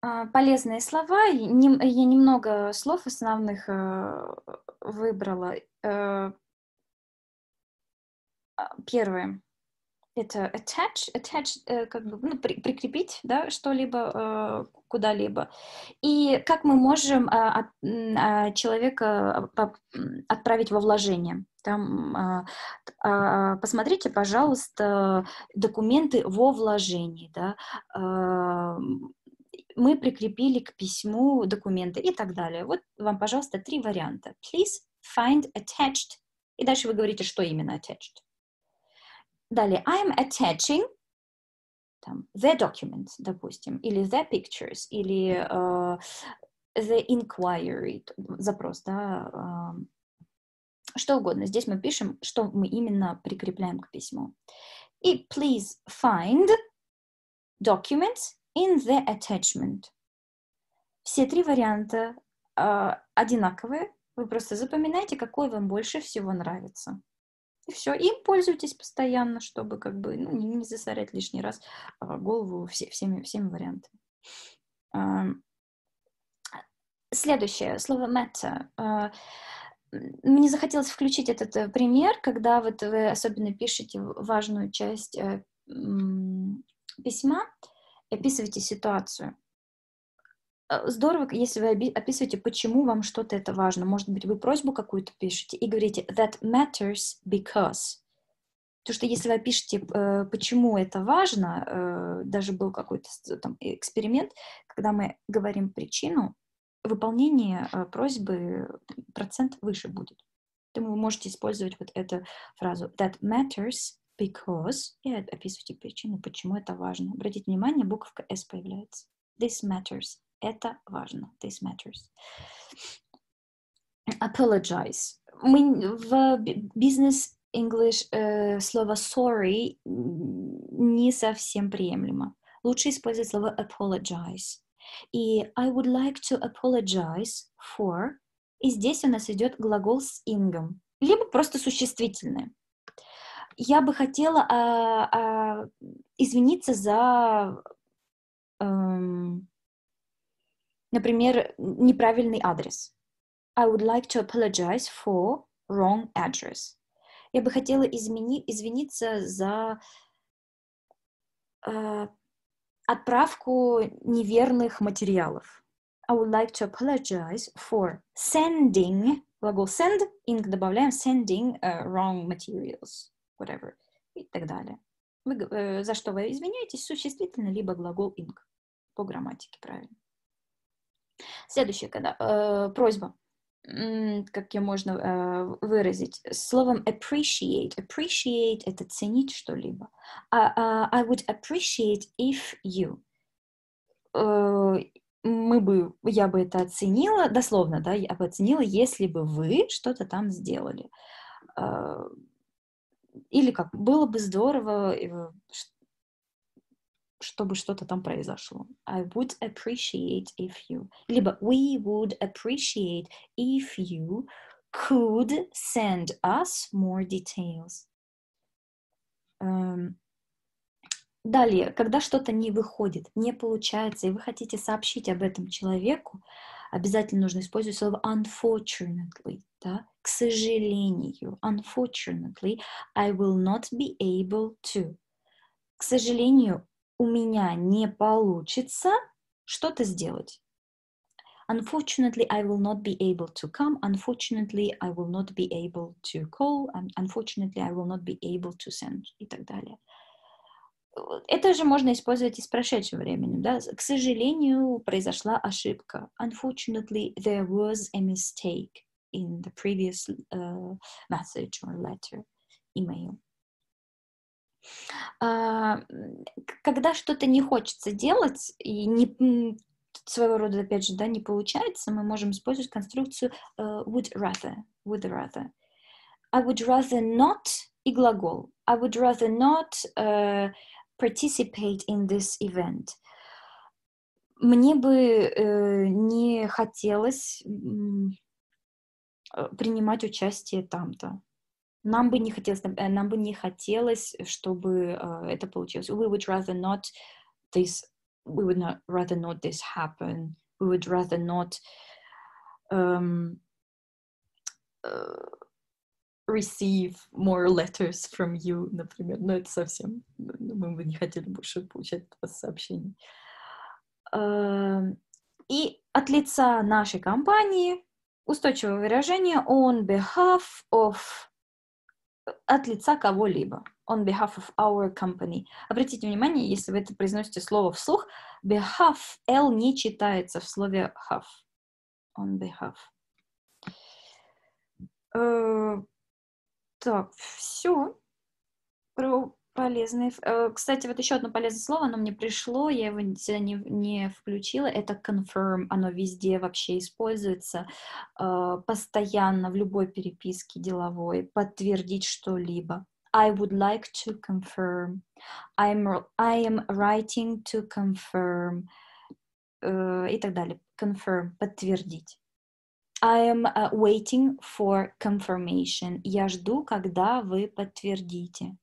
Полезные слова. Я немного слов основных выбрала. Первое. Это attach, как бы, ну, прикрепить, да, что-либо куда-либо. И как мы можем человека отправить во вложение. Там, посмотрите, пожалуйста, документы во вложении, да. Мы прикрепили к письму документы и так далее. Вот вам, пожалуйста, 3 варианта. Please find attached. И дальше вы говорите, что именно attached. Далее, I'm attaching там, the document, допустим, или the pictures, или the inquiry, запрос, да, что угодно. Здесь мы пишем, что мы именно прикрепляем к письму. И please find documents in the attachment. Все 3 варианта одинаковые. Вы просто запоминайте, какой вам больше всего нравится. И все. Им пользуйтесь постоянно, чтобы как бы не засорять лишний раз голову всеми вариантами. Следующее слово matter. Мне захотелось включить этот пример, когда вот вы особенно пишете важную часть письма, описываете ситуацию. Здорово, если вы описываете, почему вам что-то это важно. Может быть, вы просьбу какую-то пишете и говорите that matters because. Потому что если вы опишете, почему это важно, даже был какой-то там эксперимент, когда мы говорим причину, выполнение просьбы процент выше будет. Поэтому вы можете использовать вот эту фразу that matters because и описывайте причину, почему это важно. Обратите внимание, буковка S появляется. This matters. Это важно. This matters. Apologize. Мы в business English слово sorry не совсем приемлемо. Лучше использовать слово apologize. И I would like to apologize for. И здесь у нас идет глагол с ингом. Либо просто существительное. Я бы хотела извиниться за, например, неправильный адрес. I would like to apologize for wrong address. Я бы хотела извиниться за отправку неверных материалов. I would like to apologize for sending, глагол send, ing добавляем, sending wrong materials, whatever, и так далее. За что вы извиняетесь? Существительное, либо глагол ing. По грамматике, правильно. Следующее, когда просьба. Как ее можно выразить? Словом appreciate. Appreciate — это ценить что-либо. I would appreciate if you. Я бы это оценила, дословно, да, я бы оценила, если бы вы что-то там сделали. Или как, было бы здорово, чтобы что-то там произошло. I would appreciate if you. Либо we would appreciate if you could send us more details. Далее, когда что-то не выходит, не получается, и вы хотите сообщить об этом человеку, обязательно нужно использовать слово unfortunately, да? К сожалению. Unfortunately, I will not be able to. К сожалению, у меня не получится что-то сделать. Unfortunately, I will not be able to come. Unfortunately, I will not be able to call. Unfortunately, I will not be able to send. И так далее. Это же можно использовать и с прошедшим временем. Да? К сожалению, произошла ошибка. Unfortunately, there was a mistake in the previous message or letter, email. Когда что-то не хочется делать и своего рода, опять же, да, не получается, мы можем использовать конструкцию would rather. Would rather. I would rather not и глагол. I would rather not participate in this event. Мне бы не хотелось принимать участие там-то. Нам бы не хотелось, чтобы это получилось. We would rather not this we would not rather not this happen. We would rather not receive more letters from you, например. Но это совсем... Мы бы не хотели больше получать от вас сообщений. И от лица нашей компании устойчивое выражение on behalf of... От лица кого-либо. On behalf of our company. Обратите внимание, если вы это произносите слово вслух, behalf, L не читается в слове have. On behalf. Так, все про полезные... Кстати, вот еще одно полезное слово, оно мне пришло, я его сюда не включила, это confirm, оно везде вообще используется, постоянно, в любой переписке деловой, подтвердить что-либо. I would like to confirm. I am writing to confirm. И так далее. Confirm, подтвердить. I am waiting for confirmation. Я жду, когда вы подтвердите.